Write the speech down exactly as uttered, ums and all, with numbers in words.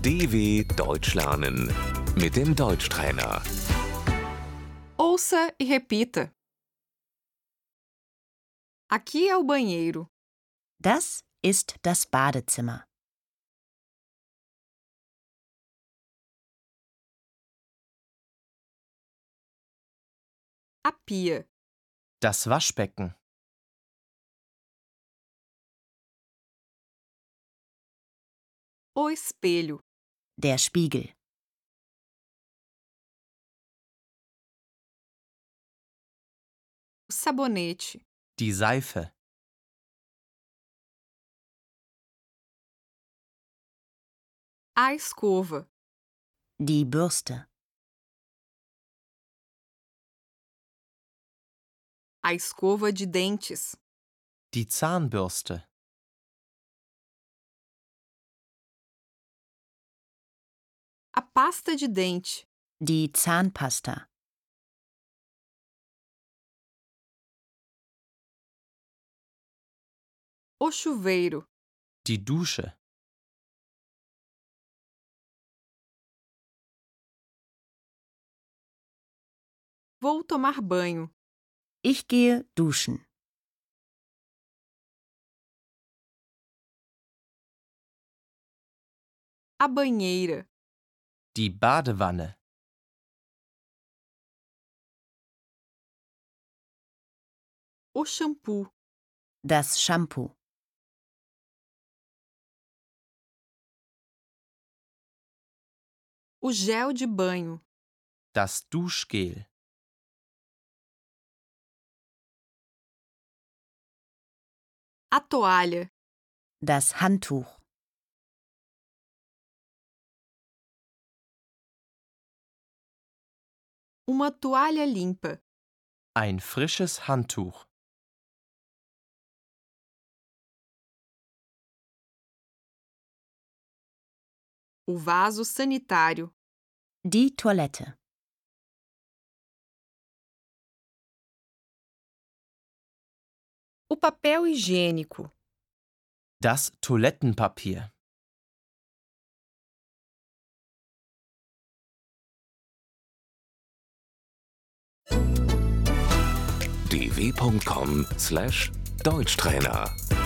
D W Deutsch lernen mit dem Deutschtrainer. Ouça e repita. Aqui é o banheiro. Das ist das Badezimmer. A pia. Das Waschbecken. O espelho. Der Spiegel. O sabonete. Die Seife. A escova. Die Bürste. A escova de dentes. Die Zahnbürste. A pasta de dente. Die Zahnpasta. O chuveiro. Die Dusche. Vou tomar banho. Ich gehe duschen. A banheira. Die Badewanne. O shampoo. Das Shampoo. O gel de banho. Das Duschgel. A toalha. Das Handtuch. Uma toalha limpa. Ein frisches Handtuch. O vaso sanitário. Die Toilette. O papel higiênico. Das Toilettenpapier. d w punkt com slash Deutschtrainer